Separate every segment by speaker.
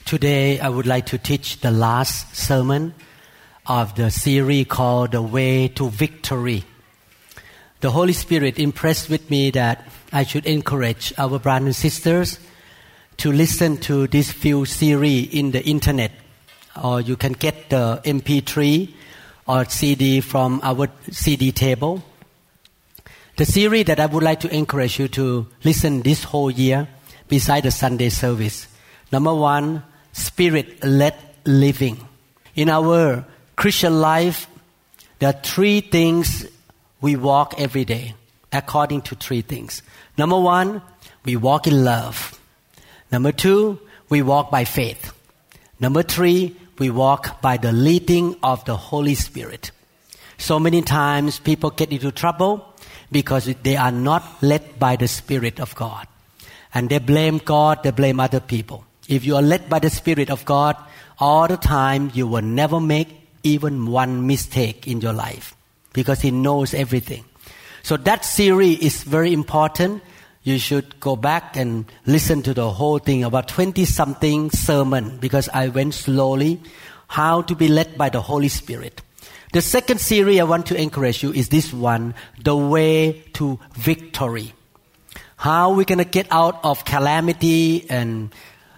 Speaker 1: Today I would like to teach the last sermon of the series called The Way to Victory. The Holy Spirit impressed with me that I should encourage our brothers and sisters to listen to this few series in the internet, or you can get the MP3 or CD from our CD table. The series that I would like to encourage you to listen this whole year beside the Sunday service. Number one, Spirit-led living. In our Christian life, there are three things we walk every day, according to three things. Number one, we walk in love. Number two, we walk by faith. Number three, we walk by the leading of the Holy Spirit. So many times people get into trouble because they are not led by the Spirit of God. And they blame God, they blame other people. If you are led by the Spirit of God all the time, you will never make even one mistake in your life because He knows everything. So that series is very important. You should go back and listen to the whole thing, about 20-something sermon, because I went slowly, how to be led by the Holy Spirit. The second series I want to encourage you is this one, The Way to Victory. How we're going to get out of calamity and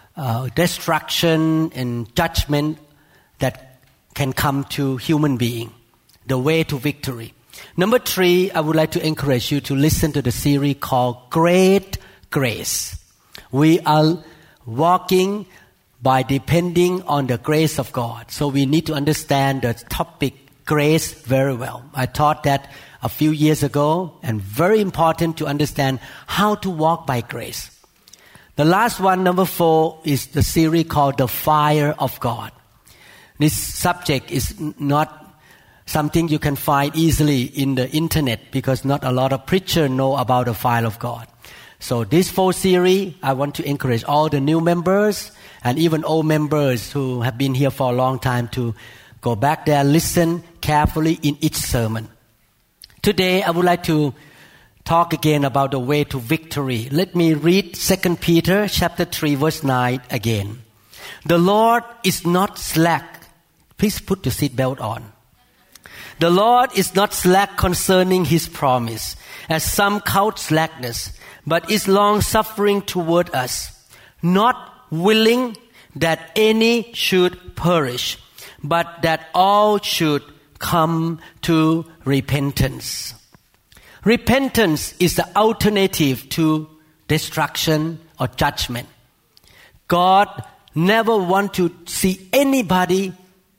Speaker 1: destruction and judgment that can come to human being. The way to victory. Number three, I would like to encourage you to listen to the series called Great Grace. We are walking by depending on the grace of God. So we need to understand the topic grace very well. I taught that a few years ago, and very important to understand how to walk by grace. The last one, number 4, is the series called The Fire of God. This subject is not something you can find easily in the internet because not a lot of preachers know about the fire of God. So this 4 series, I want to encourage all the new members and even old members who have been here for a long time to go back there, listen carefully in each sermon. Today, I would like to talk again about the way to victory. Let me read 2 Peter chapter 3 verse 9 again. The Lord is not slack. Please put your seatbelt on. The Lord is not slack concerning His promise, as some count slackness, but is long-suffering toward us, not willing that any should perish, but that all should come to repentance. Repentance is the alternative to destruction or judgment. God never wants to see anybody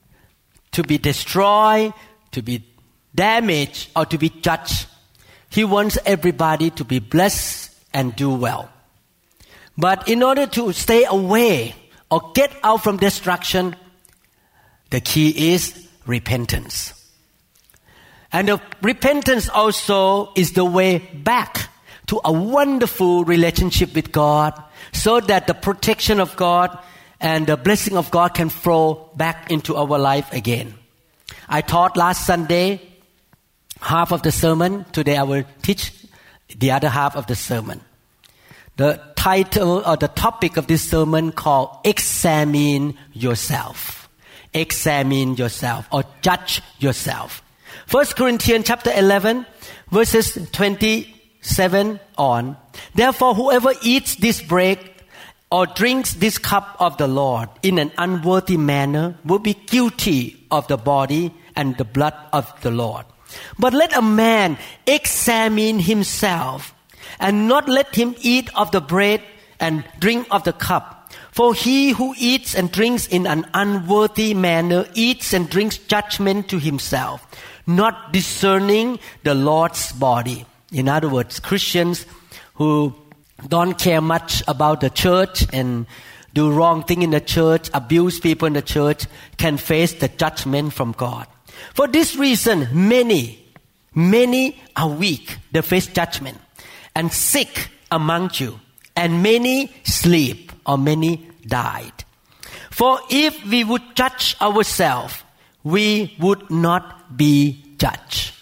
Speaker 1: to be destroyed, to be damaged, or to be judged. He wants everybody to be blessed and do well. But in order to stay away or get out from destruction, the key is repentance. And the repentance also is the way back to a wonderful relationship with God, so that the protection of God and the blessing of God can flow back into our life again. I taught last Sunday half of the sermon. Today I will teach the other half of the sermon. The title or the topic of this sermon called Examine Yourself. Examine yourself or judge yourself. 1 Corinthians chapter 11 verses 27 on. Therefore, whoever eats this bread or drinks this cup of the Lord in an unworthy manner will be guilty of the body and the blood of the Lord. But let a man examine himself, and not let him eat of the bread and drink of the cup. For he who eats and drinks in an unworthy manner eats and drinks judgment to himself, not discerning the Lord's body. In other words, Christians who don't care much about the church and do wrong thing in the church, abuse people in the church, can face the judgment from God. For this reason, many are weak. They face judgment. And sick among you. And many sleep, or many died. For if we would judge ourselves, we would not be judged.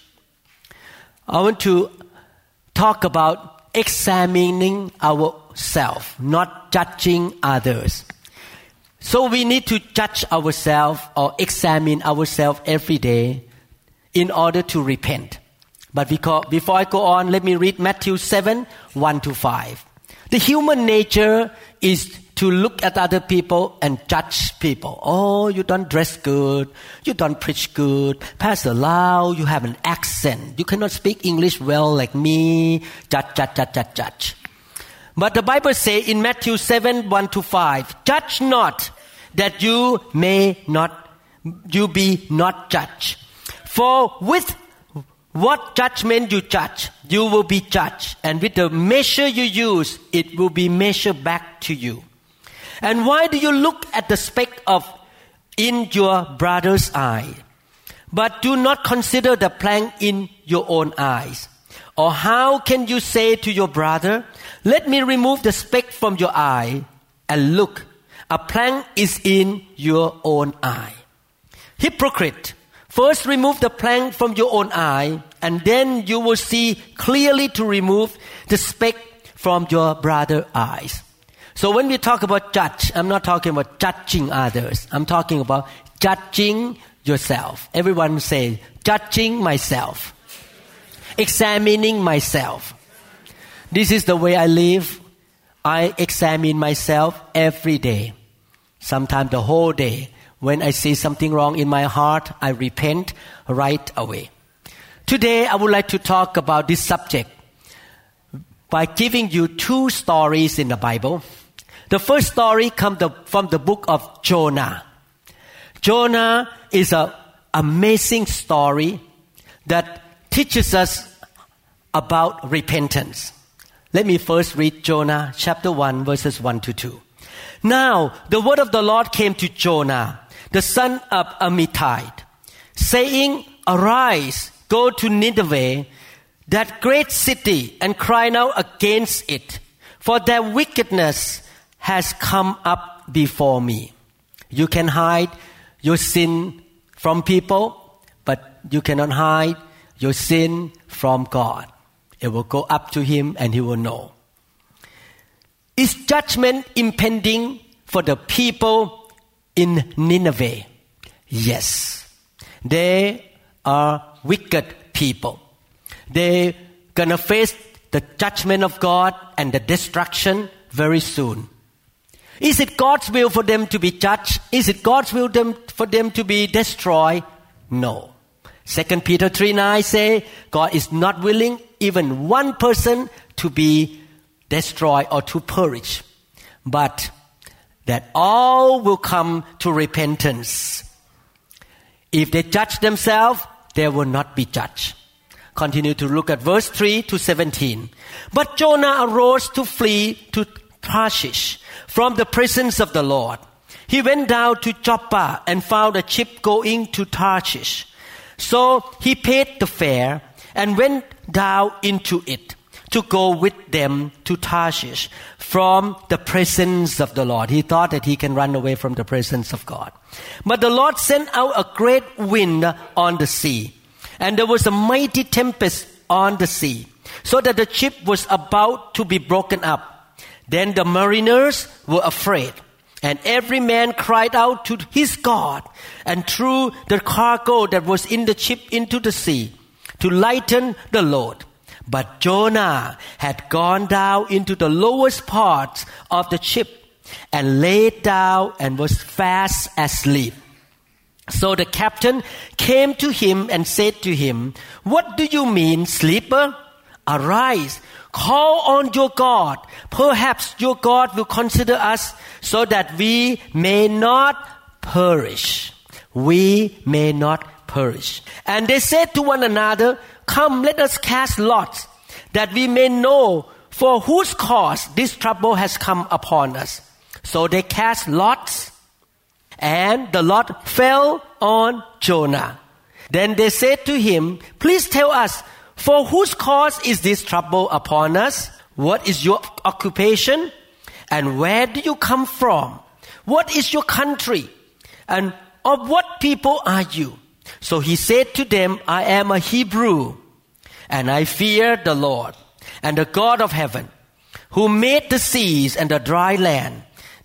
Speaker 1: I want to talk about examining ourselves, not judging others. So we need to judge ourselves or examine ourselves every day in order to repent. But before I go on, let me read Matthew 7, 1-5. The human nature is to look at other people and judge people. Oh, you don't dress good. You don't preach good. Pastor Lau, you have an accent. You cannot speak English well like me. Judge. But the Bible says in Matthew 7, 1-5, judge not that you be not judged. For with what judgment you judge, you will be judged. And with the measure you use, it will be measured back to you. And why do you look at the speck in your brother's eye, but do not consider the plank in your own eyes? Or how can you say to your brother, let me remove the speck from your eye, and look, a plank is in your own eye? Hypocrite! First remove the plank from your own eye, and then you will see clearly to remove the speck from your brother's eyes. So when we talk about judge, I'm not talking about judging others. I'm talking about judging yourself. Everyone say, judging myself. Examining myself. This is the way I live. I examine myself every day. Sometimes the whole day. When I see something wrong in my heart, I repent right away. Today, I would like to talk about this subject by giving you two stories in the Bible. The first story comes from the book of Jonah. Jonah is an amazing story that teaches us about repentance. Let me first read Jonah chapter 1 verses 1-2. Now, the word of the Lord came to Jonah, the son of Amittai, saying, arise, go to Nineveh, that great city, and cry out against it, for their wickedness has come up before me. You can hide your sin from people, but you cannot hide your sin from God. It will go up to Him and He will know. Is judgment impending for the people in Nineveh? Yes. They are wicked people. They're gonna face the judgment of God and the destruction very soon. Is it God's will for them to be judged? Is it God's will for them to be destroyed? No. 2 Peter 3:9 say, God is not willing even one person to be destroyed or to perish, but that all will come to repentance. If they judge themselves, they will not be judged. Continue to look at verse 3-17. But Jonah arose to flee to Tarshish from the presence of the Lord. He went down to Joppa and found a ship going to Tarshish. So he paid the fare and went down into it to go with them to Tarshish from the presence of the Lord. He thought that he can run away from the presence of God. But the Lord sent out a great wind on the sea, and there was a mighty tempest on the sea, so that the ship was about to be broken up. Then the mariners were afraid, and every man cried out to his God, and threw the cargo that was in the ship into the sea to lighten the load. But Jonah had gone down into the lowest parts of the ship and laid down and was fast asleep. So the captain came to him and said to him, "What do you mean, sleeper? Arise, call on your God. Perhaps your God will consider us so that we may not perish." We may not perish. And they said to one another, "Come, let us cast lots, that we may know for whose cause this trouble has come upon us." So they cast lots, and the lot fell on Jonah. Then they said to him, "Please tell us, for whose cause is this trouble upon us? What is your occupation? And where do you come from? What is your country? And of what people are you?" So he said to them, "I am a Hebrew, and I fear the Lord, and the God of heaven, who made the seas and the dry land."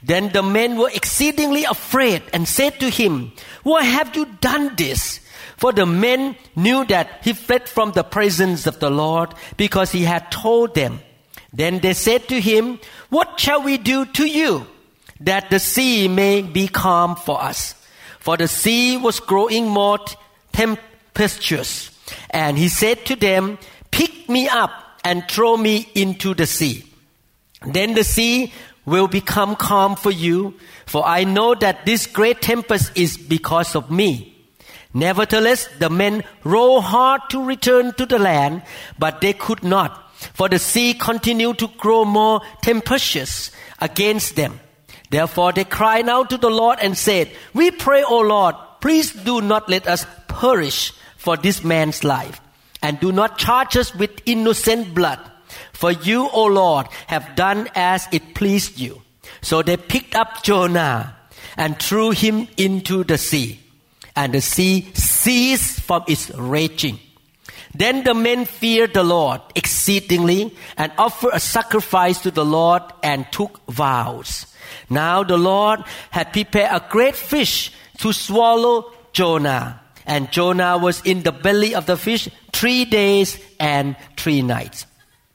Speaker 1: Then the men were exceedingly afraid and said to him, "Why have you done this?" For the men knew that he fled from the presence of the Lord because he had told them. Then they said to him, "What shall we do to you, that the sea may be calm for us?" For the sea was growing more tempestuous. And he said to them, "Pick me up and throw me into the sea. Then the sea will become calm for you, for I know that this great tempest is because of me." Nevertheless, the men rowed hard to return to the land, but they could not, for the sea continued to grow more tempestuous against them. Therefore they cried out to the Lord and said, "We pray, O Lord, please do not let us perish for this man's life, and do not charge us with innocent blood. For you, O Lord, have done as it pleased you." So they picked up Jonah and threw him into the sea, and the sea ceased from its raging. Then the men feared the Lord exceedingly and offered a sacrifice to the Lord and took vows. Now the Lord had prepared a great fish to swallow Jonah, and Jonah was in the belly of the fish 3 days and 3 nights.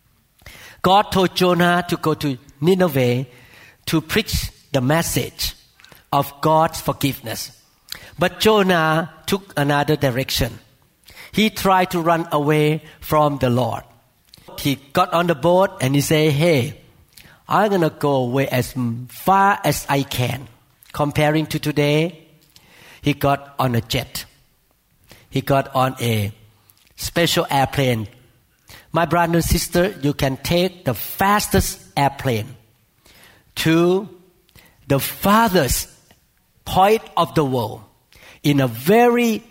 Speaker 1: God told Jonah to go to Nineveh to preach the message of God's forgiveness. But Jonah took another direction. He tried to run away from the Lord. He got on the boat and he said, "Hey, I'm going to go away as far as I can." Comparing to today, he got on a jet. He got on a special airplane. My brother and sister, you can take the fastest airplane to the farthest point of the world in a very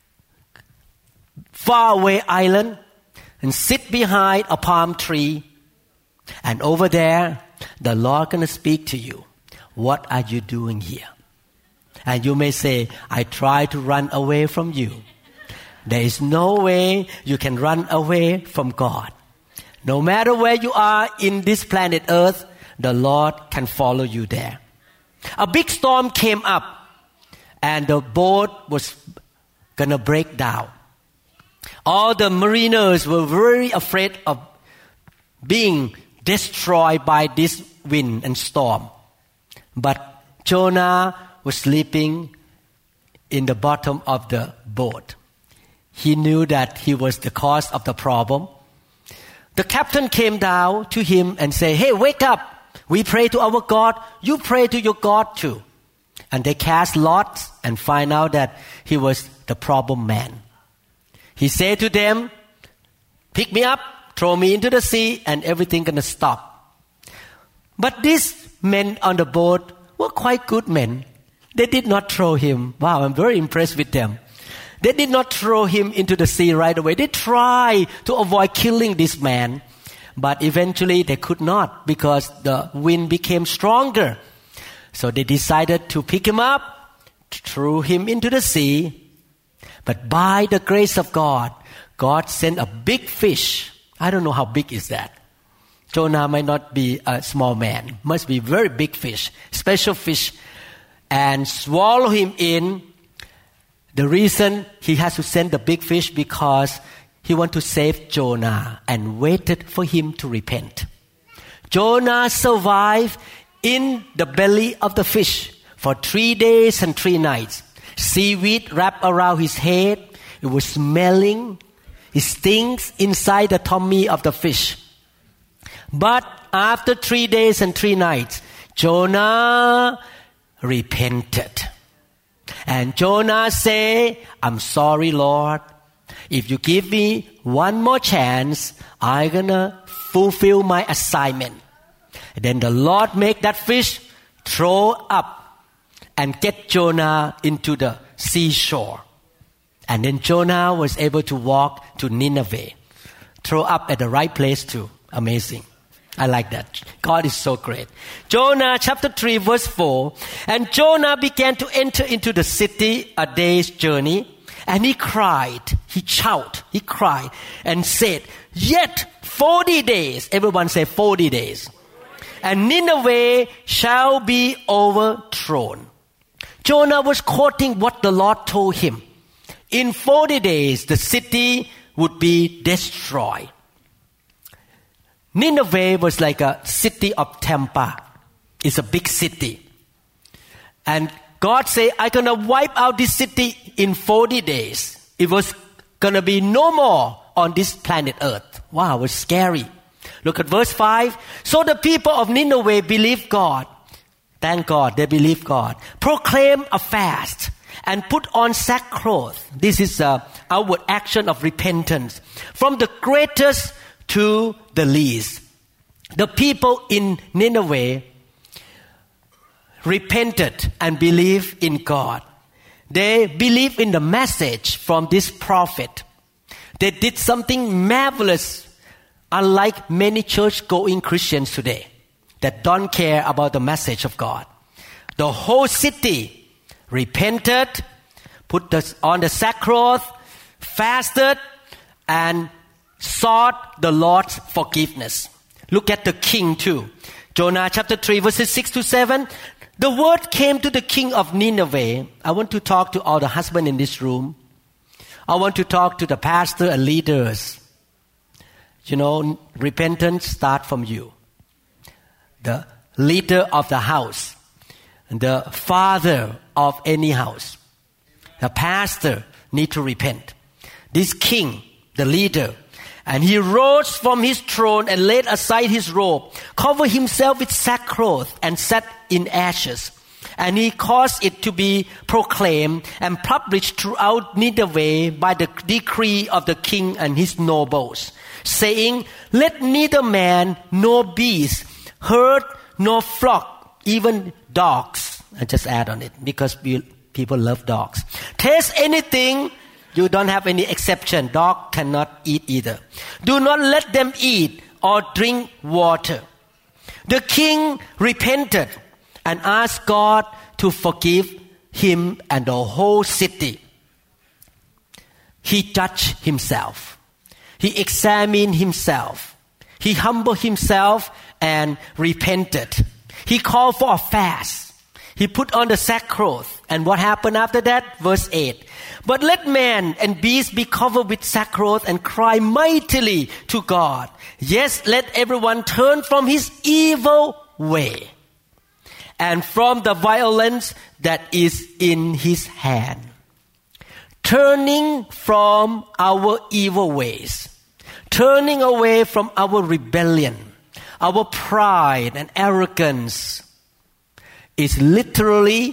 Speaker 1: far away island and sit behind a palm tree, and over there the Lord gonna speak to you. What are you doing here? And you may say, "I try to run away from you." There is no way you can run away from God. No matter where you are in this planet Earth, the Lord can follow you there. A big storm came up and the boat was gonna break down. All the mariners were very afraid of being destroyed by this wind and storm. But Jonah was sleeping in the bottom of the boat. He knew that he was the cause of the problem. The captain came down to him and said, "Hey, wake up. We pray to our God. You pray to your God too." And they cast lots and find out that he was the problem man. He said to them, "Pick me up, throw me into the sea, and everything gonna stop." But these men on the boat were quite good men. They did not throw him. Wow, I'm very impressed with them. They did not throw him into the sea right away. They tried to avoid killing this man. But eventually they could not because the wind became stronger. So they decided to pick him up, threw him into the sea. But by the grace of God, God sent a big fish. I don't know how big is that. Jonah might not be a small man. Must be very big fish, special fish. And swallow him in. The reason he has to send the big fish because he wanted to save Jonah and waited for him to repent. Jonah survived in the belly of the fish for 3 days and 3 nights. Seaweed wrapped around his head. It was smelling. It stinks inside the tummy of the fish. But after 3 days and 3 nights, Jonah repented. And Jonah said, "I'm sorry, Lord. If you give me one more chance, I'm gonna fulfill my assignment." And then the Lord made that fish throw up and get Jonah into the seashore. And then Jonah was able to walk to Nineveh. Throw up at the right place too. Amazing. I like that. God is so great. Jonah chapter 3 verse 4. And Jonah began to enter into the city a day's journey. And he cried, he cried and said, "Yet 40 days." Everyone say 40 days. and Nineveh shall be overthrown. Jonah was quoting what the Lord told him. In 40 days, the city would be destroyed. Nineveh was like a city of Tampa. It's a big city. And God said, I'm going to wipe out this city in 40 days. It was going to be no more on this planet Earth. Wow, it was scary. Look at verse 5. So the people of Nineveh believed God. Thank God, they believed God. Proclaim a fast and put on sackcloth. This is an outward action of repentance. From the greatest to the least. The people in Nineveh repented and believed in God. They believed in the message from this prophet. They did something marvelous, unlike many church-going Christians today that don't care about the message of God. The whole city repented, put on the sackcloth, fasted, and sought the Lord's forgiveness. Look at the king too. Jonah chapter 3 verses 6 to 7. The word came to the king of Nineveh. I want to talk to all the husbands in this room. I want to talk to the pastor and leaders. You know, repentance starts from you. The leader of the house, the father of any house, the pastor need to repent. This king, the leader, and he rose from his throne and laid aside his robe, covered himself with sackcloth and sat in ashes. And he caused it to be proclaimed and published throughout Nineveh by the decree of the king and his nobles, saying, let neither man nor beast, herd nor flock, even dogs. I just add on it because people love dogs. Taste anything. You don't have any exception. Dog cannot eat either. Do not let them eat or drink water. The king repented and asked God to forgive him and the whole city. He judged himself. He examined himself. He humbled himself and repented. He called for a fast. He put on the sackcloth. And what happened after that? Verse 8. But let man and beast be covered with sackcloth and cry mightily to God. Yes, let everyone turn from his evil way and from the violence that is in his hand. Turning from our evil ways. Turning away from our rebellion, our pride and arrogance is literally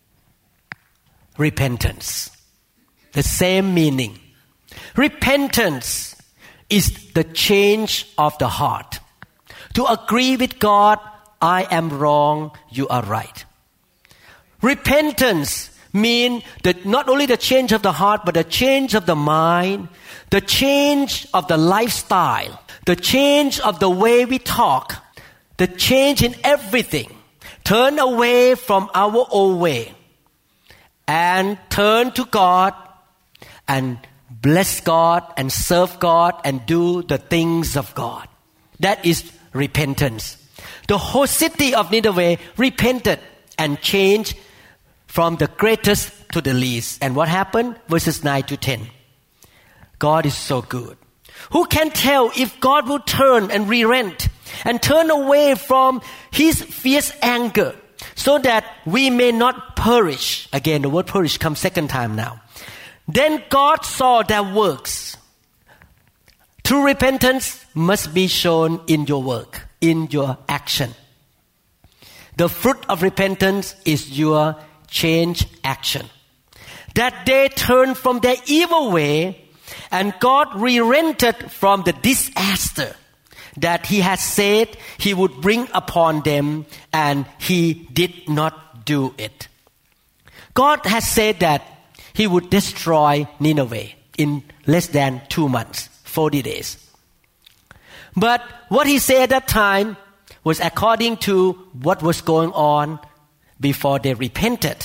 Speaker 1: repentance. The same meaning. Repentance is the change of the heart. To agree with God, I am wrong, you are right. Repentance means that not only the change of the heart, but the change of the mind, the change of the lifestyle, the change of the way we talk, the change in everything. Turn away from our old way and turn to God and bless God and serve God and do the things of God. That is repentance. The whole city of Nineveh repented and changed from the greatest to the least. And what happened? Verses 9 to 10. God is so good. Who can tell if God will turn and relent and turn away from his fierce anger so that we may not perish? Again, the word perish comes second time now. Then God saw their works. True repentance must be shown in your work, in your action. The fruit of repentance is your change action. That they turned from their evil way and God relented from the disaster that he had said he would bring upon them, and he did not do it. God has said that he would destroy Nineveh in less than 2 months, 40 days. But what he said at that time was according to what was going on before they repented.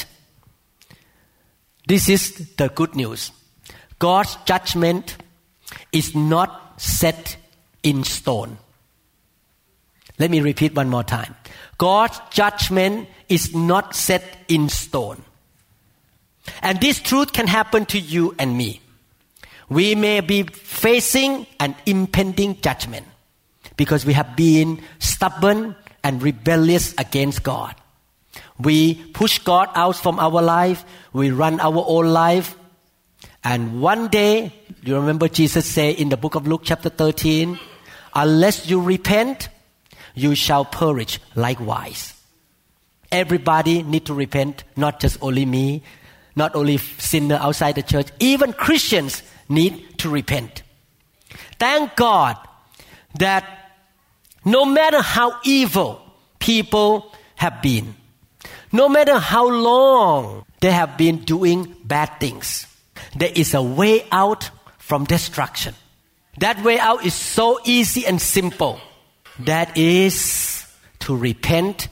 Speaker 1: This is the good news. God's judgment is not set in stone. Let me repeat one more time. God's judgment is not set in stone. And this truth can happen to you and me. We may be facing an impending judgment because we have been stubborn and rebellious against God. We push God out from our life. We run our own life. And one day, you remember Jesus said in the book of Luke chapter 13, unless you repent, you shall perish likewise. Everybody need to repent, not just only me, not only sinner outside the church. Even Christians need to repent. Thank God that no matter how evil people have been, no matter how long they have been doing bad things, there is a way out from destruction. That way out is so easy and simple. That is to repent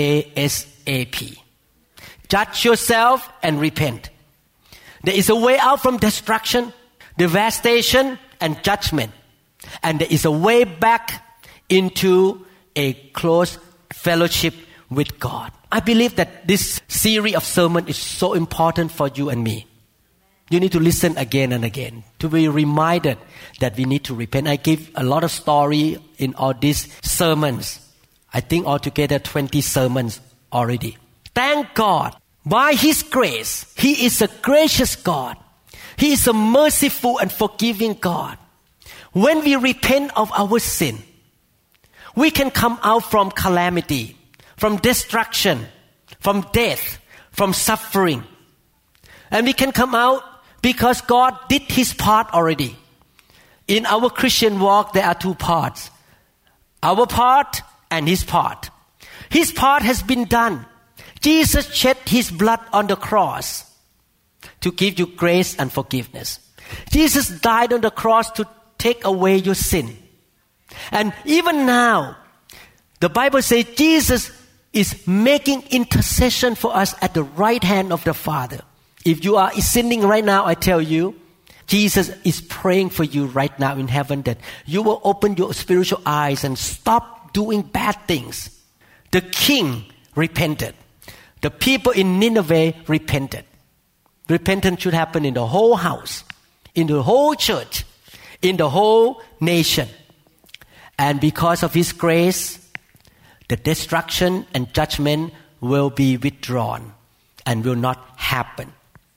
Speaker 1: ASAP. Judge yourself and repent. There is a way out from destruction, devastation, and judgment. And there is a way back into a close fellowship with God. I believe that this series of sermons is so important for you and me. You need to listen again and again to be reminded that we need to repent. I give a lot of story in all these sermons. I think altogether 20 sermons already. Thank God. By His grace, He is a gracious God. He is a merciful and forgiving God. When we repent of our sin, we can come out from calamity, from destruction, from death, from suffering. And we can come out because God did His part already. In our Christian walk, there are two parts. Our part and His part. His part has been done. Jesus shed His blood on the cross to give you grace and forgiveness. Jesus died on the cross to take away your sin. And even now, the Bible says Jesus is making intercession for us at the right hand of the Father. If you are sinning right now, I tell you, Jesus is praying for you right now in heaven that you will open your spiritual eyes and stop doing bad things. The king repented. The people in Nineveh repented. Repentance should happen in the whole house, in the whole church, in the whole nation. And because of His grace, the destruction and judgment will be withdrawn and will not happen.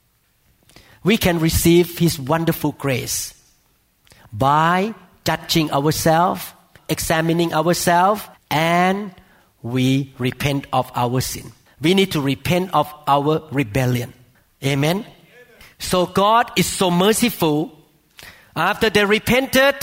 Speaker 1: We can receive His wonderful grace by judging ourselves, examining ourselves, and we repent of our sin. We need to repent of our rebellion. Amen? So God is so merciful. After they repented,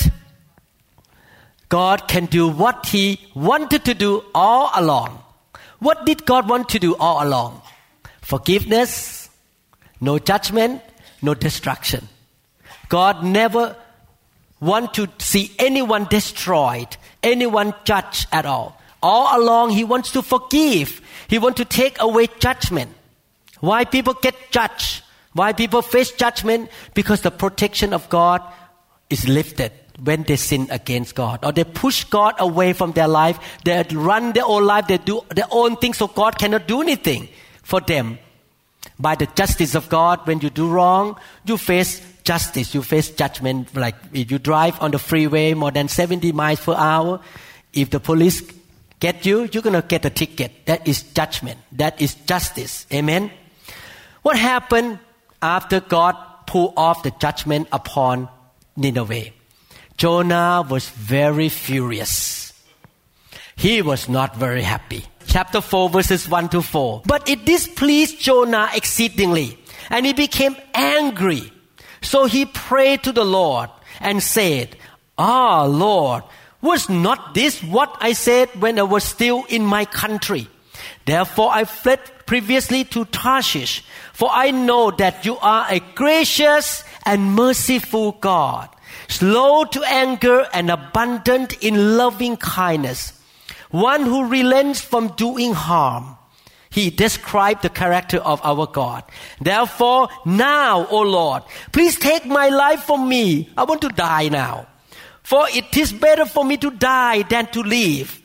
Speaker 1: God can do what He wanted to do all along. What did God want to do all along? Forgiveness, no judgment, no destruction. God never want to see anyone destroyed, anyone judged at all. All along, He wants to forgive. He wants to take away judgment. Why people get judged? Why people face judgment? Because the protection of God is lifted when they sin against God. Or they push God away from their life. They run their own life. They do their own things so God cannot do anything for them. By the justice of God, when you do wrong, you face justice. You face judgment. Like if you drive on the freeway more than 70 miles per hour, if the police get you, you're going to get a ticket. That is judgment. That is justice. Amen? What happened after God pulled off the judgment upon Nineveh? Jonah was very furious. He was not very happy. Chapter 4 verses 1 to 4. But it displeased Jonah exceedingly, and he became angry. So he prayed to the Lord and said, Lord, was not this what I said when I was still in my country? Therefore I fled previously to Tarshish, for I know that you are a gracious and merciful God, slow to anger and abundant in loving kindness, one who relents from doing harm. He described the character of our God. Therefore, now, O Lord, please take my life from me. I want to die now. For it is better for me to die than to live.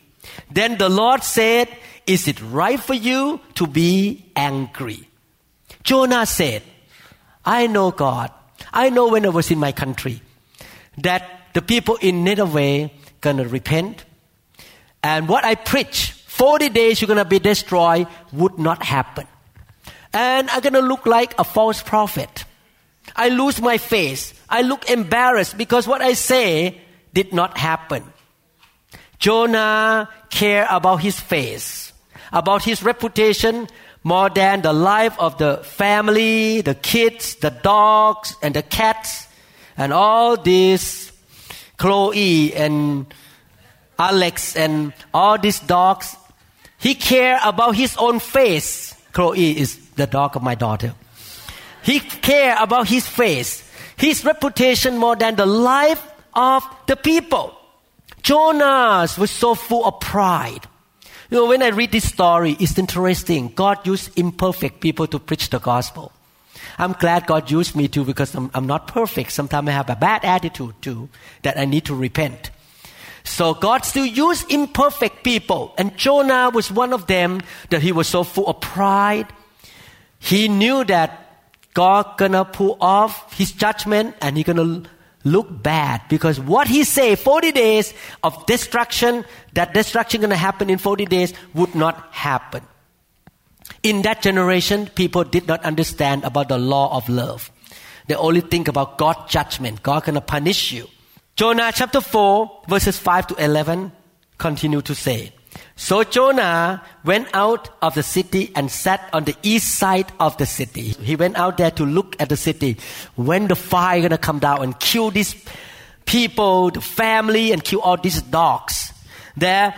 Speaker 1: Then the Lord said, "Is it right for you to be angry?" Jonah said, "I know God. I know when I was in my country that the people in Nineveh gonna repent. And what I preach, 40 days you're gonna be destroyed, would not happen. And I'm gonna look like a false prophet. I lose my face. I look embarrassed because what I say did not happen." Jonah cared about his face, about his reputation, more than the life of the family, the kids, the dogs, and the cats, and all these Chloe and Alex and all these dogs. He cared about his own face. Chloe is the dog of my daughter. He cared about his face, his reputation more than the life of the people. Jonah was so full of pride. You know, when I read this story, it's interesting. God used imperfect people to preach the gospel. I'm glad God used me too because I'm not perfect. Sometimes I have a bad attitude too that I need to repent. So God still used imperfect people. And Jonah was one of them, that he was so full of pride. He knew that God gonna pull off his judgment and he gonna look bad because what he say 40 days of destruction, that destruction gonna happen in 40 days would not happen. In that generation, people did not understand about the law of love. They only think about God's judgment. God gonna punish you. Jonah chapter 4 verses 5 to 11 continue to say, "So Jonah went out of the city and sat on the east side of the city." He went out there to look at the city. When the fire gonna come down and kill these people, the family, and kill all these dogs. There,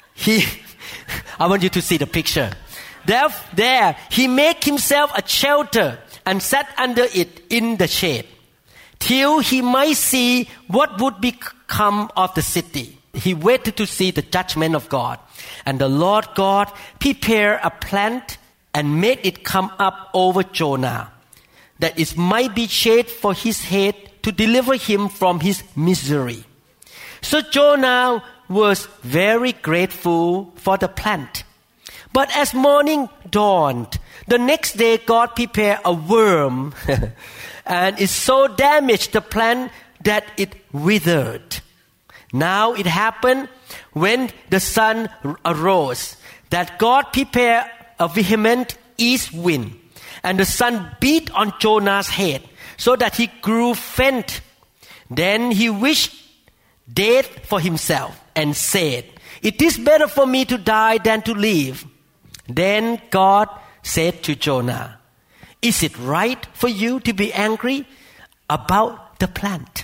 Speaker 1: I want you to see the picture. There, he made himself a shelter and sat under it in the shade, till he might see what would become of the city. He waited to see the judgment of God. And the Lord God prepared a plant and made it come up over Jonah, that it might be shade for his head to deliver him from his misery. So Jonah was very grateful for the plant. But as morning dawned, the next day God prepared a worm and it so damaged the plant that it withered. Now it happened when the sun arose that God prepared a vehement east wind, and the sun beat on Jonah's head so that he grew faint. Then he wished death for himself and said, "It is better for me to die than to live." Then God said to Jonah, "Is it right for you to be angry about the plant?"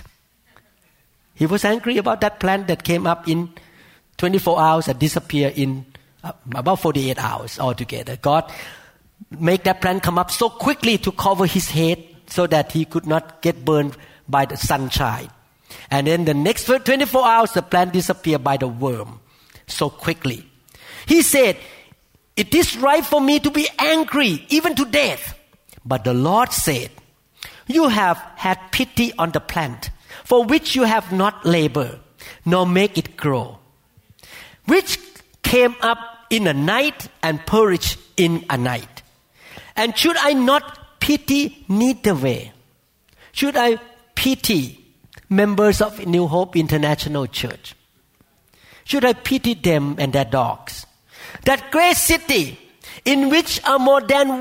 Speaker 1: He was angry about that plant that came up in 24 hours and disappeared in about 48 hours altogether. God made that plant come up so quickly to cover his head so that he could not get burned by the sunshine. And then the next 24 hours, the plant disappeared by the worm so quickly. He said, "It is right for me to be angry, even to death." But the Lord said, "You have had pity on the plant, for which you have not labored, nor make it grow, which came up in a night and perished in a night. And should I not pity Nineveh? Should I pity members of New Hope International Church? Should I pity them and their dogs? That great city in which are more than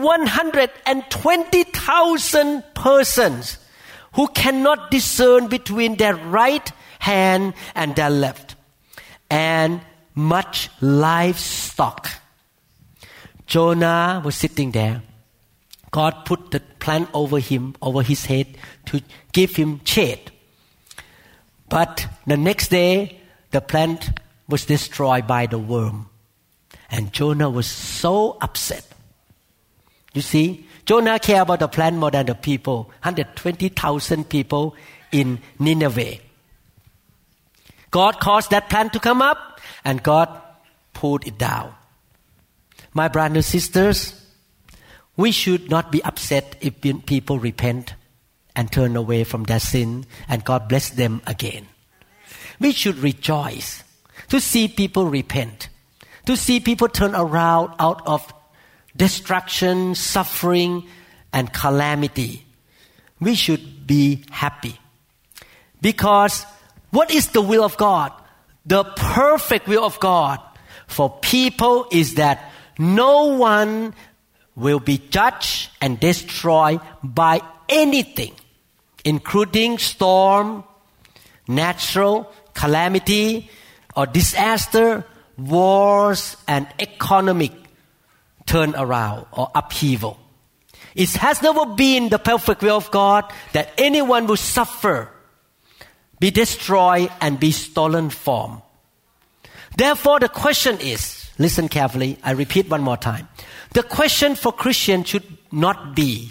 Speaker 1: 120,000 persons who cannot discern between their right hand and their left, and much livestock." Jonah was sitting there. God put the plant over him, over his head, to give him shade. But the next day, the plant was destroyed by the worm. And Jonah was so upset. You see, Jonah cared about the plant more than the people, 120,000 people in Nineveh. God caused that plant to come up, and God pulled it down. My brothers and sisters, we should not be upset if people repent and turn away from their sin, and God bless them again. We should rejoice to see people repent. to see people turn around out of destruction, suffering, and calamity. We should be happy. Because what is the will of God? The perfect will of God for people is that no one will be judged and destroyed by anything, including storm, natural calamity or disaster, wars, and economic turnaround or upheaval. It has never been the perfect will of God that anyone will suffer, be destroyed, and be stolen from. Therefore, the question is, listen carefully, I repeat one more time. The question for Christians should not be,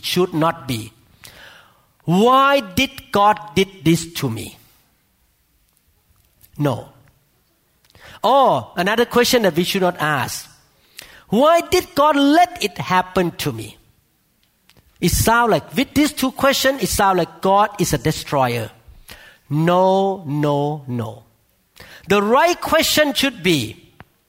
Speaker 1: why did God did this to me? No. Or another question that we should not ask, why did God let it happen to me? It sounds like, with these two questions, it sounds like God is a destroyer. No. The right question should be,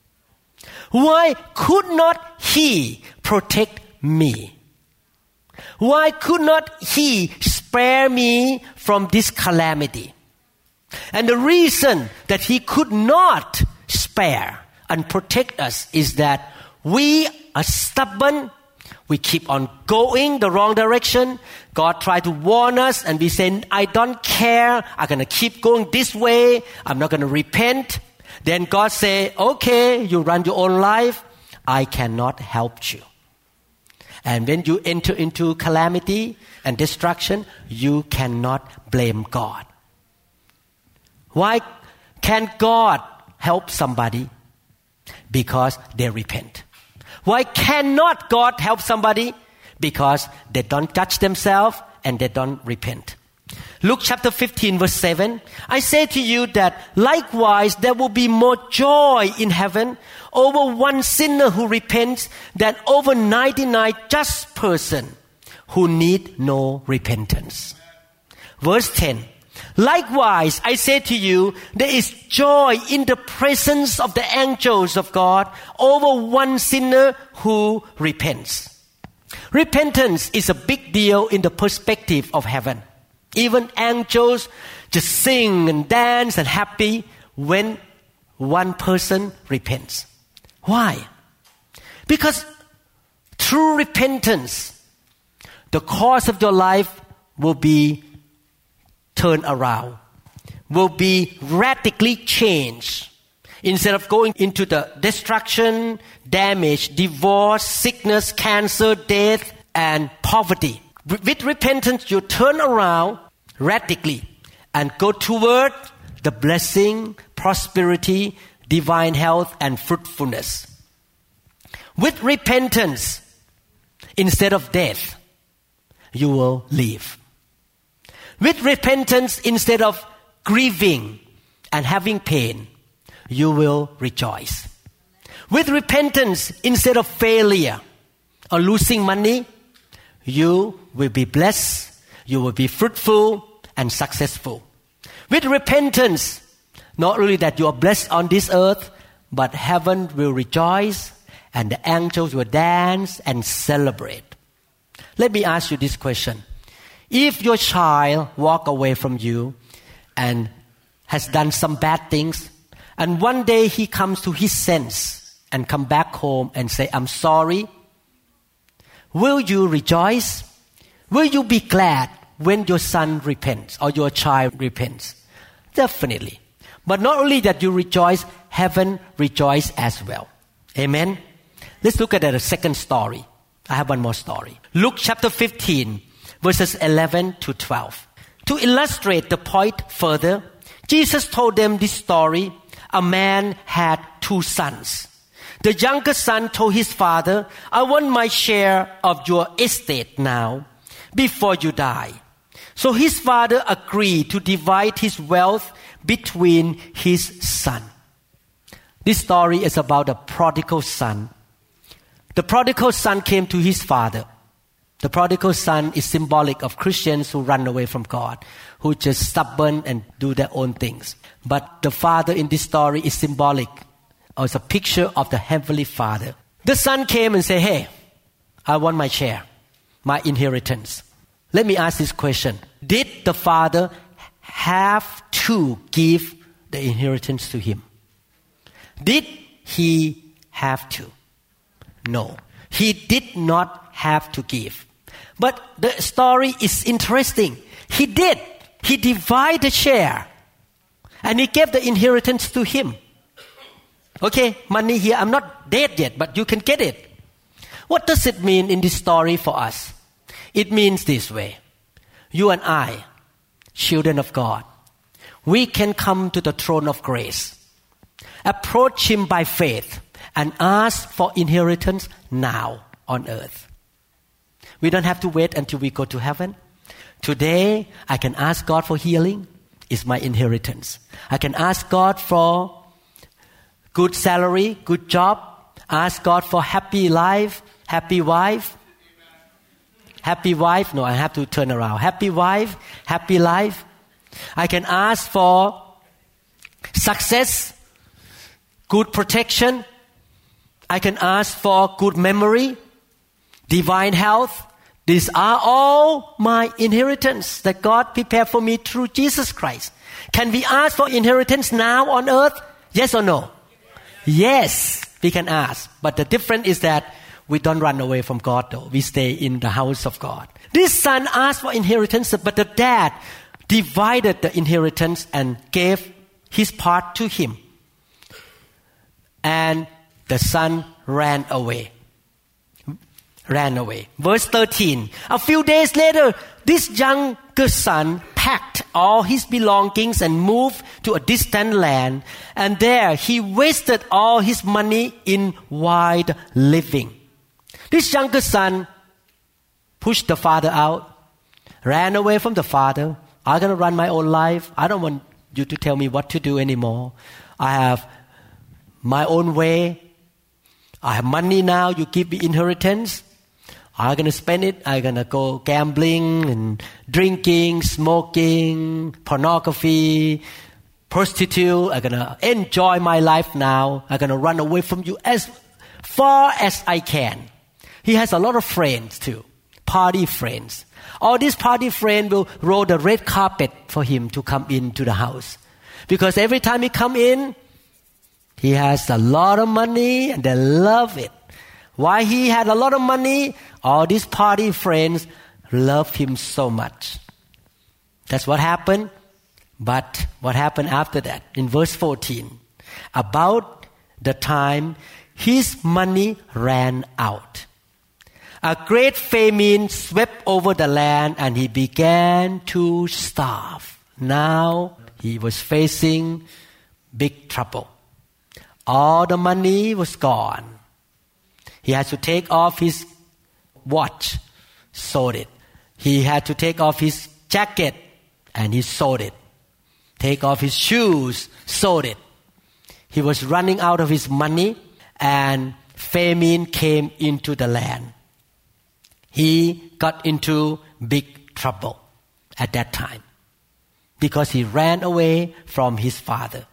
Speaker 1: why could not He protect me? Why could not He spare me from this calamity? And the reason that He could not spare and protect us is that we are stubborn. We keep on going the wrong direction. God tried to warn us and we say, I don't care. I'm going to keep going this way. I'm not going to repent. Then God say, okay, you run your own life. I cannot help you. And when you enter into calamity and destruction, you cannot blame God. Why can't God help somebody? Because they repent. Why cannot God help somebody? Because they don't judge themselves and they don't repent. Luke chapter 15 verse 7. I say to you that likewise there will be more joy in heaven over one sinner who repents than over 99 just person who need no repentance. Verse 10. Likewise, I say to you, there is joy in the presence of the angels of God over one sinner who repents. Repentance is a big deal in the perspective of heaven. Even angels just sing and dance and happy when one person repents. Why? Because through repentance, the course of your life will be turned around, will be radically changed. Instead of going into the destruction, damage, divorce, sickness, cancer, death, and poverty. With repentance, you turn around radically and go toward the blessing, prosperity, divine health, and fruitfulness. With repentance, instead of death, you will live. With repentance, instead of grieving and having pain, you will rejoice. With repentance, instead of failure or losing money, you will be blessed, you will be fruitful and successful. With repentance, not only that you are blessed on this earth, but heaven will rejoice and the angels will dance and celebrate. Let me ask you this question. If your child walk away from you and has done some bad things, and one day he comes to his sense and come back home and say, I'm sorry, will you rejoice? Will you be glad when your son repents or your child repents? Definitely. But not only that you rejoice, heaven rejoice as well. Amen? Let's look at the second story. I have one more story. Luke chapter 15. Verses 11 to 12. To illustrate the point further, Jesus told them this story. A man had 2 sons. The younger son told his father, I want my share of your estate now, before you die. So his father agreed to divide his wealth between his son. This story is about a prodigal son. The prodigal son came to his father. The prodigal son is symbolic of Christians who run away from God, who just stubborn and do their own things. But the father in this story is symbolic or it's a picture of the Heavenly Father. The son came and said, hey, I want my share, my inheritance. Let me ask this question. Did the father have to give the inheritance to him? Did he have to? No. He did not have to give. But the story is interesting. He did. He divided the share. And he gave the inheritance to him. Okay, money here. I'm not dead yet, but you can get it. What does it mean in this story for us? It means this way. You and I, children of God, we can come to the throne of grace, approach Him by faith, and ask for inheritance now on earth. We don't have to wait until we go to heaven. Today, I can ask God for healing. It's my inheritance. I can ask God for good salary, good job. Ask God for happy life, happy wife. Happy wife. No, I have to turn around. Happy wife, happy life. I can ask for success, good protection. I can ask for good memory, divine health. These are all my inheritance that God prepared for me through Jesus Christ. Can we ask for inheritance now on earth? Yes or no? Yes, we can ask. But the difference is that we don't run away from God though. We stay in the house of God. This son asked for inheritance, but the dad divided the inheritance and gave his part to him. And the son ran away. Verse 13. A few days later, this younger son packed all his belongings and moved to a distant land. And there he wasted all his money in wild living. This younger son pushed the father out, ran away from the father. I'm going to run my own life. I don't want you to tell me what to do anymore. I have my own way. I have money now. You give me inheritance. I'm going to spend it. I'm going to go gambling and drinking, smoking, pornography, prostitute. I'm going to enjoy my life now. I'm going to run away from you as far as I can. He has a lot of friends too, party friends. All these party friends will roll the red carpet for him to come into the house. Because every time he come in, he has a lot of money and they love it. Why he had a lot of money? All these party friends love him so much. That's what happened. But what happened after that? In verse 14, about the time his money ran out, a great famine swept over the land and he began to starve. Now he was facing big trouble. All the money was gone. He had to take off his watch, sold it. He had to take off his jacket and he sold it. Take off his shoes, sold it. He was running out of his money and famine came into the land. He got into big trouble at that time because he ran away from his father.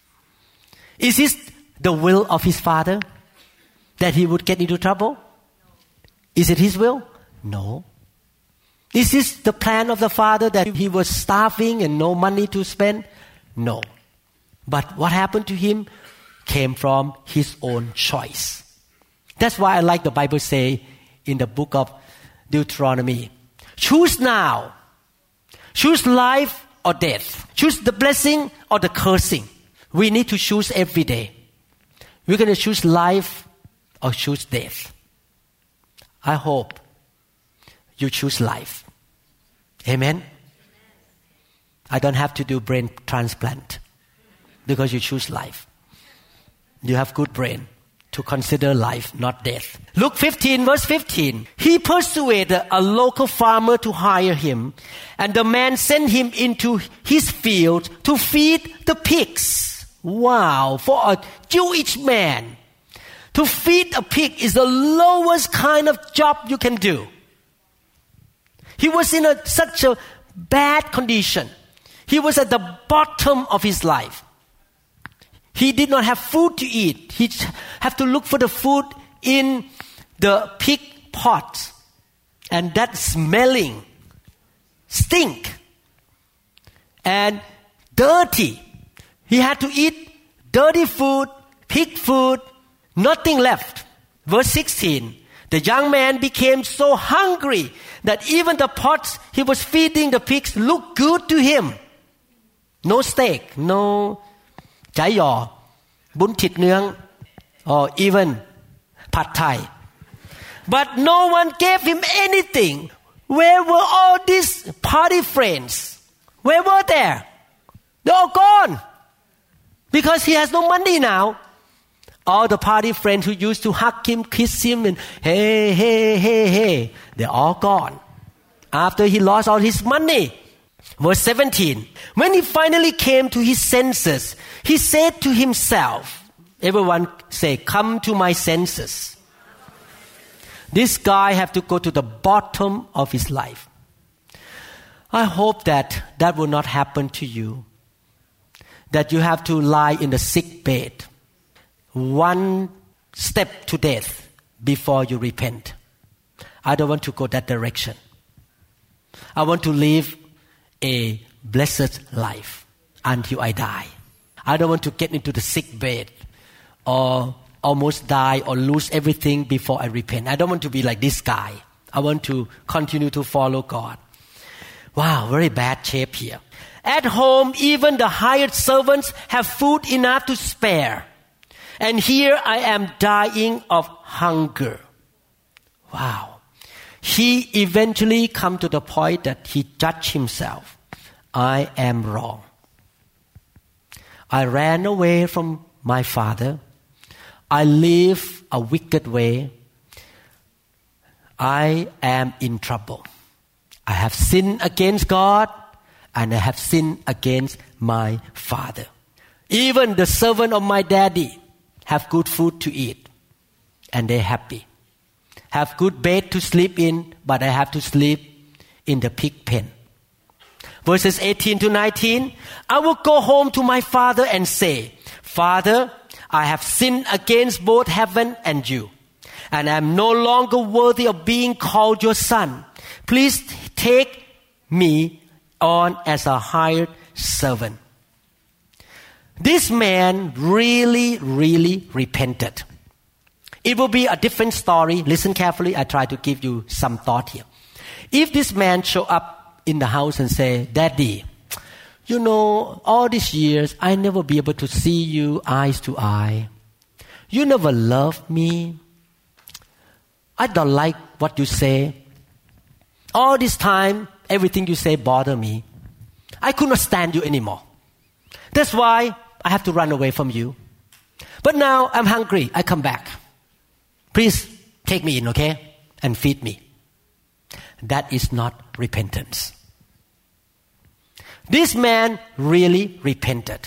Speaker 1: Is this the will of his father that he would get into trouble? Is it his will? No. Is this the plan of the father that he was starving and no money to spend? No. But what happened to him came from his own choice. That's why I like the Bible say in the book of Deuteronomy, choose now. Choose life or death. Choose the blessing or the cursing. We need to choose every day. We're going to choose life or choose death. I hope you choose life. Amen? I don't have to do brain transplant because you choose life. You have good brain to consider life, not death. Luke 15, verse 15. He persuaded a local farmer to hire him, and the man sent him into his field to feed the pigs. Wow, for a Jewish man, to feed a pig is the lowest kind of job you can do. He was in such a bad condition. He was at the bottom of his life. He did not have food to eat. He have to look for the food in the pig pot. And that smelling, stink, and dirty. He had to eat dirty food, pig food, nothing left. Verse 16, the young man became so hungry that even the pots he was feeding the pigs looked good to him. No steak, no chai yaw, bún thịt nướng, or even pad thai. But no one gave him anything. Where were all these party friends? Where were they? They're all gone. Because he has no money now. All the party friends who used to hug him, kiss him, and hey, they're all gone. After he lost all his money. Verse 17. When he finally came to his senses, he said to himself, everyone say, come to my senses. This guy have to go to the bottom of his life. I hope that will not happen to you. That you have to lie in the sick bed, one step to death before you repent. I don't want to go that direction. I want to live a blessed life until I die. I don't want to get into the sick bed or almost die or lose everything before I repent. I don't want to be like this guy. I want to continue to follow God. Wow, very bad shape here. At home, even the hired servants have food enough to spare. And here I am dying of hunger. Wow. He eventually come to the point that he judged himself. I am wrong. I ran away from my father. I live a wicked way. I am in trouble. I have sinned against God and I have sinned against my father. Even the servant of my daddy have good food to eat and they're happy. Have good bed to sleep in, but I have to sleep in the pig pen. Verses 18 to 19, I will go home to my father and say, Father, I have sinned against both heaven and you, and I am no longer worthy of being called your son. Please take me on as a hired servant. This man really repented. It will be a different story. Listen carefully. I try to give you some thought here. If this man show up in the house and say, Daddy, you know, all these years, I never be able to see you eyes to eye. You never loved me. I don't like what you say. All this time, everything you say bother me. I could not stand you anymore. That's why I have to run away from you. But now I'm hungry. I come back. Please take me in, okay? And feed me. That is not repentance. This man really repented.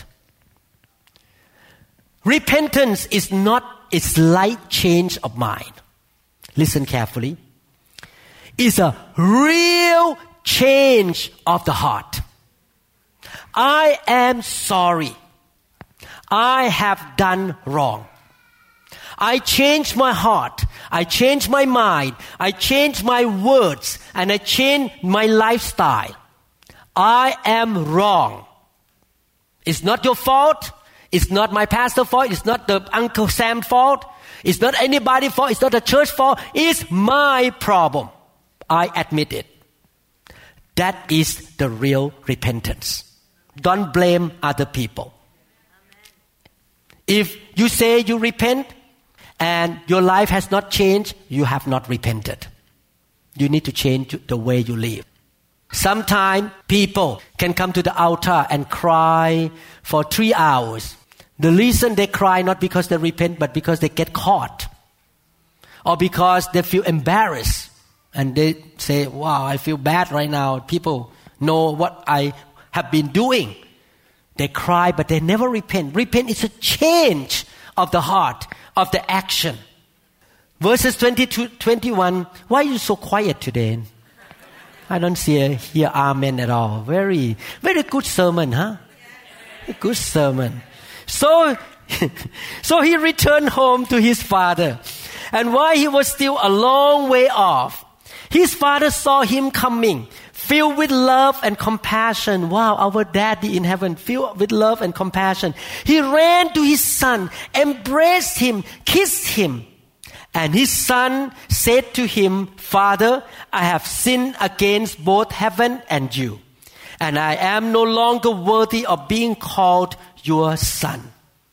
Speaker 1: Repentance is not a slight change of mind. Listen carefully. It's a real change of the heart. I am sorry. I have done wrong. I changed my heart. I changed my mind. I changed my words. And I changed my lifestyle. I am wrong. It's not your fault. It's not my pastor's fault. It's not the Uncle Sam's fault. It's not anybody's fault. It's not the church's fault. It's my problem. I admit it. That is the real repentance. Don't blame other people. If you say you repent and your life has not changed, you have not repented. You need to change the way you live. Sometimes people can come to the altar and cry for 3 hours. The reason they cry not because they repent, but because they get caught. Or because they feel embarrassed. And they say, wow, I feel bad right now. People know what I have been doing. They cry, but they never repent. Repent is a change of the heart, of the action. Verses 20 to 21, why are you so quiet today? I don't hear amen at all. Very good sermon, huh? A good sermon. So So he returned home to his father. And while he was still a long way off, his father saw him coming, filled with love and compassion. Wow, our daddy in heaven, filled with love and compassion. He ran to his son, embraced him, kissed him. And his son said to him, Father, I have sinned against both heaven and you, and I am no longer worthy of being called your son.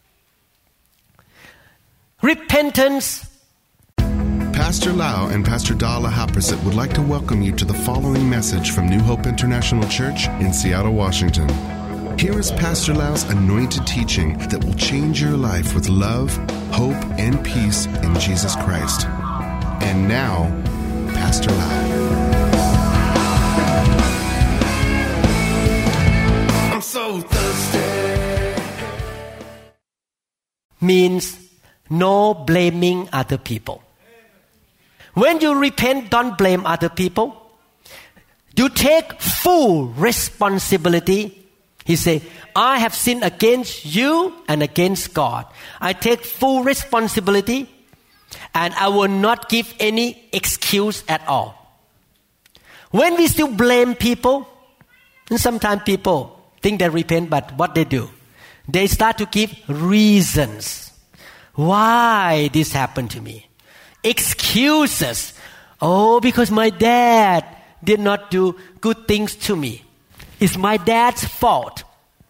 Speaker 1: Repentance.
Speaker 2: Pastor Lau and Pastor Dala Haprasit would like to welcome you to the following message from New Hope International Church in Seattle, Washington. Here is Pastor Lau's anointed teaching that will change your life with love, hope, and peace in Jesus Christ. And now, Pastor Lau.
Speaker 3: I'm so thirsty.
Speaker 1: Means no blaming other people. When you repent, don't blame other people. You take full responsibility. He said, I have sinned against you and against God. I take full responsibility and I will not give any excuse at all. When we still blame people, and sometimes people think they repent, but what they do? They start to give reasons why this happened to me. Excuses. Oh, because my dad did not do good things to me. It's my dad's fault.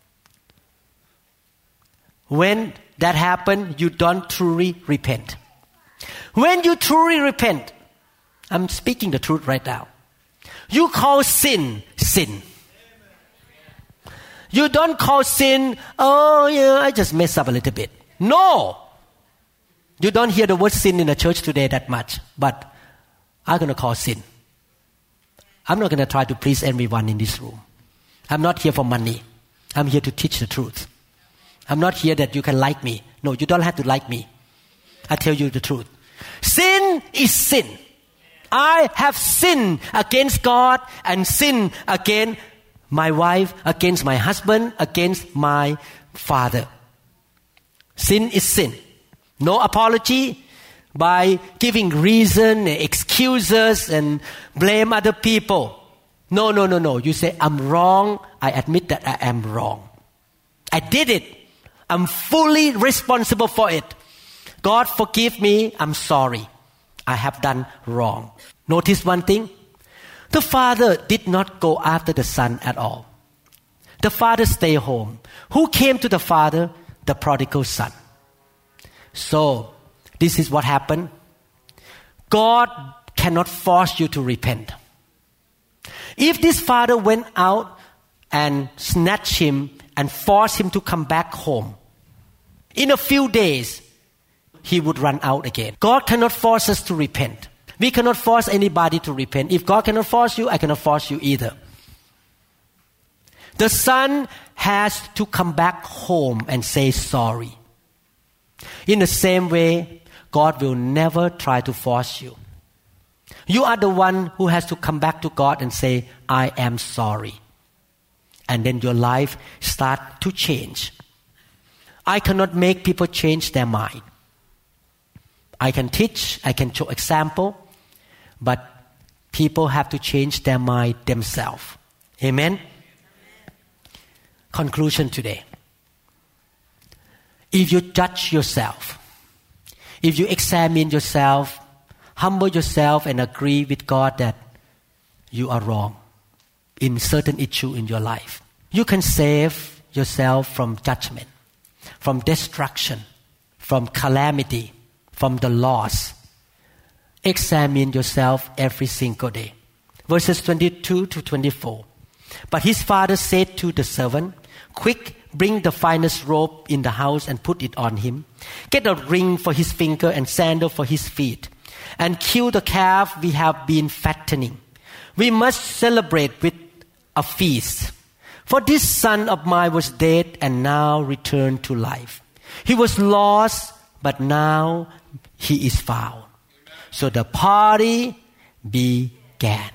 Speaker 1: When that happens, you don't truly repent. When you truly repent, I'm speaking the truth right now. You call sin, sin. You don't call sin, oh yeah, I just messed up a little bit. No. You don't hear the word sin in the church today that much, but I'm going to call sin. I'm not going to try to please everyone in this room. I'm not here for money. I'm here to teach the truth. I'm not here that you can like me. No, you don't have to like me. I tell you the truth. Sin is sin. I have sinned against God and sinned against my wife, against my husband, against my father. Sin is sin. No apology by giving reason, excuses, and blame other people. No. You say, I'm wrong. I admit that I am wrong. I did it. I'm fully responsible for it. God forgive me. I'm sorry. I have done wrong. Notice one thing. The father did not go after the son at all. The father stayed home. Who came to the father? The prodigal son. So, this is what happened. God cannot force you to repent. If this father went out and snatched him and forced him to come back home, in a few days, he would run out again. God cannot force us to repent. We cannot force anybody to repent. If God cannot force you, I cannot force you either. The son has to come back home and say sorry. In the same way, God will never try to force you. You are the one who has to come back to God and say, I am sorry. And then your life starts to change. I cannot make people change their mind. I can teach, I can show example, but people have to change their mind themselves. Amen? Conclusion today. If you judge yourself, if you examine yourself, humble yourself and agree with God that you are wrong in certain issue in your life, you can save yourself from judgment, from destruction, from calamity, from the loss. Examine yourself every single day. Verses 22 to 24. But his father said to the servant, quick, bring the finest robe in the house and put it on him. Get a ring for his finger and sandal for his feet. And kill the calf we have been fattening. We must celebrate with a feast. For this son of mine was dead and now returned to life. He was lost, but now he is found. So the party began.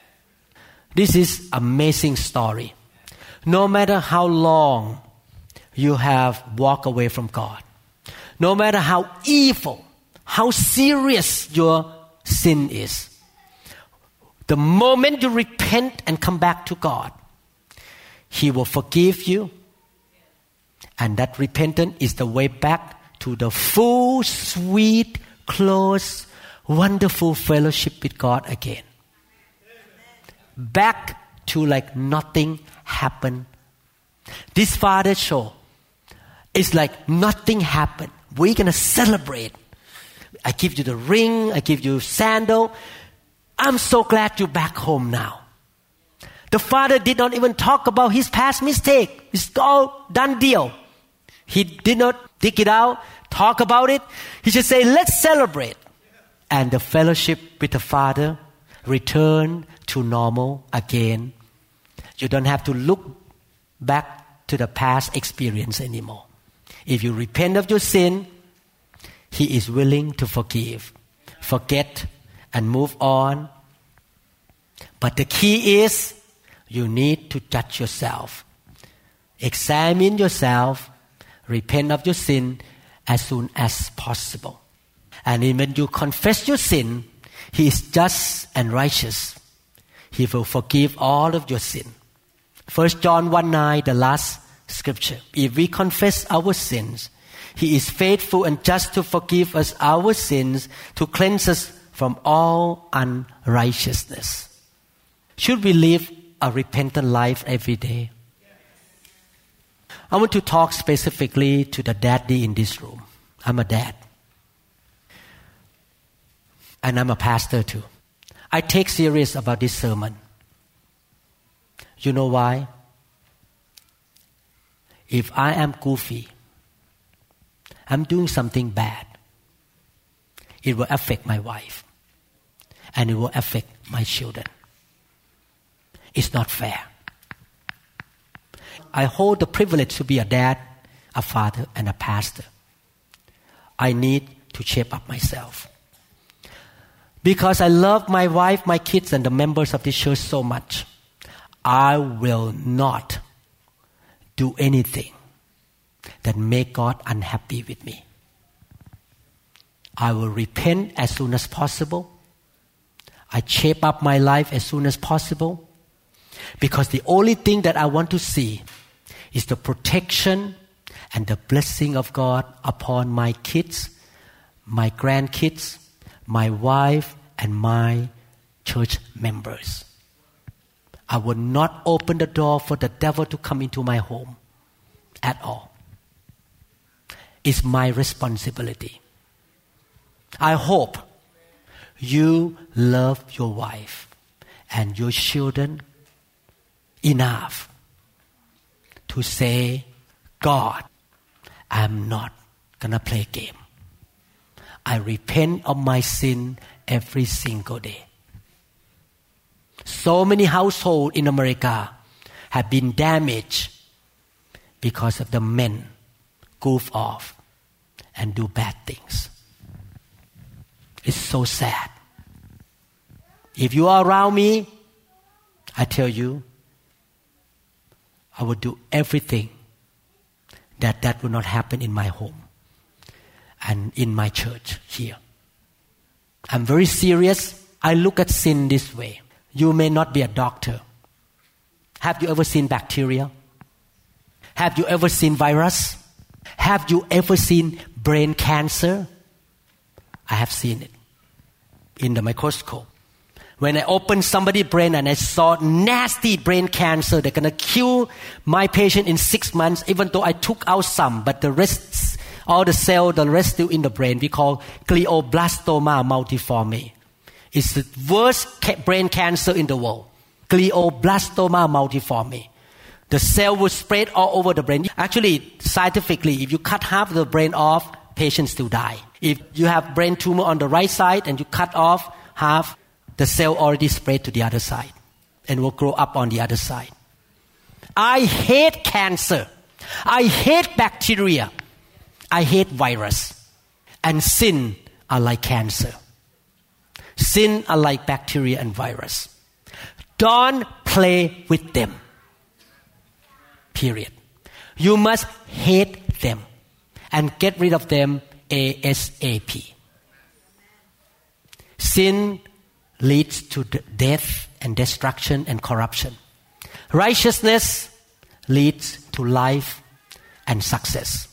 Speaker 1: This is amazing story. No matter how long you have walked away from God. No matter how evil, how serious your sin is, the moment you repent and come back to God, He will forgive you. And that repentance is the way back to the full, sweet, close, wonderful fellowship with God again. Back to like nothing happened. This Father show is like nothing happened. We're going to celebrate. I give you the ring. I give you sandal. I'm so glad you're back home now. The Father did not even talk about his past mistake. It's all done deal. He did not dig it out, talk about it. He just say, let's celebrate. And the fellowship with the Father return to normal again. You don't have to look back to the past experience anymore. If you repent of your sin, He is willing to forgive, forget, and move on. But the key is you need to judge yourself. Examine yourself, repent of your sin as soon as possible. And when you confess your sin, He is just and righteous. He will forgive all of your sin. 1 John 1:9, the last scripture. If we confess our sins, He is faithful and just to forgive us our sins, to cleanse us from all unrighteousness. Should we live a repentant life every day? I want to talk specifically to the daddy in this room. I'm a dad. And I'm a pastor too. I take serious about this sermon. You know why? If I am goofy, I'm doing something bad, it will affect my wife. And it will affect my children. It's not fair. I hold the privilege to be a dad, a father, and a pastor. I need to shape up myself. Because I love my wife, my kids, and the members of this church so much, I will not do anything that make God unhappy with me. I will repent as soon as possible. I shape up my life as soon as possible. Because the only thing that I want to see is the protection and the blessing of God upon my kids, my grandkids, my wife, and my church members. I will not open the door for the devil to come into my home at all. It's my responsibility. I hope you love your wife and your children enough to say, God, I'm not gonna play game. I repent of my sin every single day. So many households in America have been damaged because of the men goof off and do bad things. It's so sad. If you are around me, I tell you, I will do everything that will not happen in my home and in my church here. I'm very serious. I look at sin this way. You may not be a doctor. Have you ever seen bacteria? Have you ever seen virus? Have you ever seen brain cancer? I have seen it in the microscope. When I opened somebody's brain and I saw nasty brain cancer, they're going to kill my patient in 6 months, even though I took out some, but the rest, all the cell, the rest still in the brain. We call glioblastoma multiforme. It's the worst brain cancer in the world. Glioblastoma multiforme. The cell will spread all over the brain. Actually, scientifically, if you cut half the brain off, patients still die. If you have brain tumor on the right side and you cut off half, the cell already spread to the other side and will grow up on the other side. I hate cancer. I hate bacteria. I hate virus. And sin are like cancer. Sin are like bacteria and virus. Don't play with them. Period. You must hate them and get rid of them ASAP. Sin leads to death and destruction and corruption. Righteousness leads to life and success.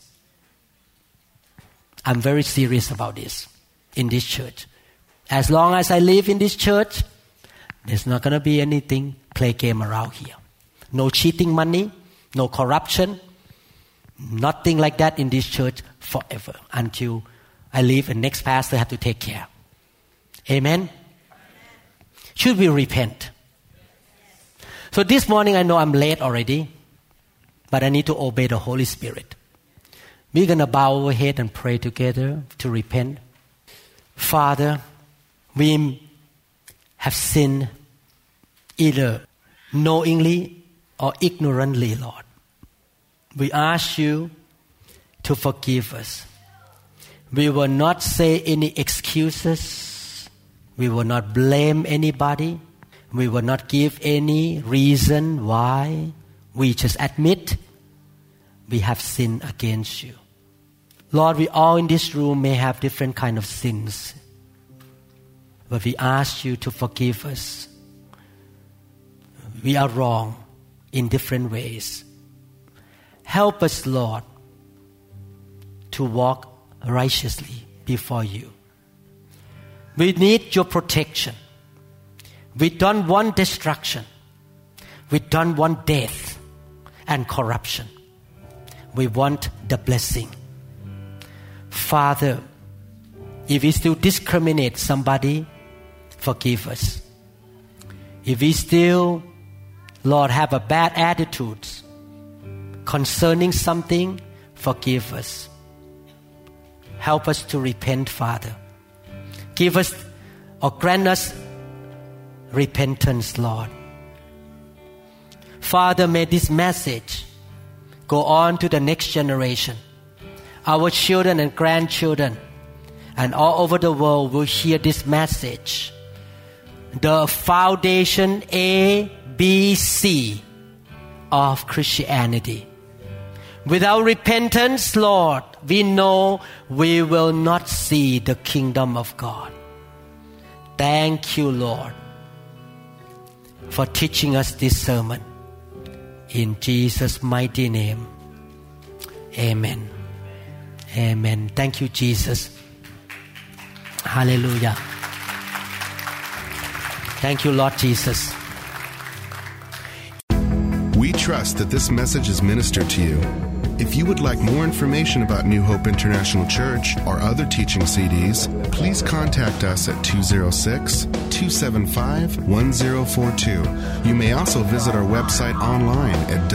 Speaker 1: I'm very serious about this in this church. As long as I live in this church, there's not going to be anything play game around here. No cheating money, no corruption, nothing like that in this church forever until I leave and next pastor have to take care. Amen? Should we repent? So this morning I know I'm late already, but I need to obey the Holy Spirit. We're going to bow our head and pray together to repent. Father, we have sinned either knowingly or ignorantly, Lord. We ask you to forgive us. We will not say any excuses. We will not blame anybody. We will not give any reason why. We just admit we have sinned against you. Lord, we all in this room may have different kind of sins. But we ask you to forgive us. We are wrong in different ways. Help us, Lord, to walk righteously before you. We need your protection. We don't want destruction. We don't want death and corruption. We want the blessing. Father, if we still discriminate somebody, forgive us. If we still, Lord, have a bad attitude concerning something, forgive us. Help us to repent, Father. Give us or grant us repentance, Lord. Father, may this message go on to the next generation. Our children and grandchildren and all over the world will hear this message. The foundation A, B, C of Christianity. Without repentance, Lord, we know we will not see the kingdom of God. Thank you, Lord, for teaching us this sermon. In Jesus' mighty name, amen. Amen. Thank you, Jesus. Hallelujah. Thank you, Lord Jesus.
Speaker 2: We trust that this message is ministered to you. If you would like more information about New Hope International Church or other teaching CDs, please contact us at 206-275-1042. You may also visit our website online at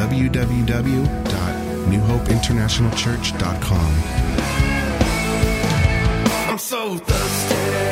Speaker 2: www.newhopeinternationalchurch.com.
Speaker 3: I'm so thirsty.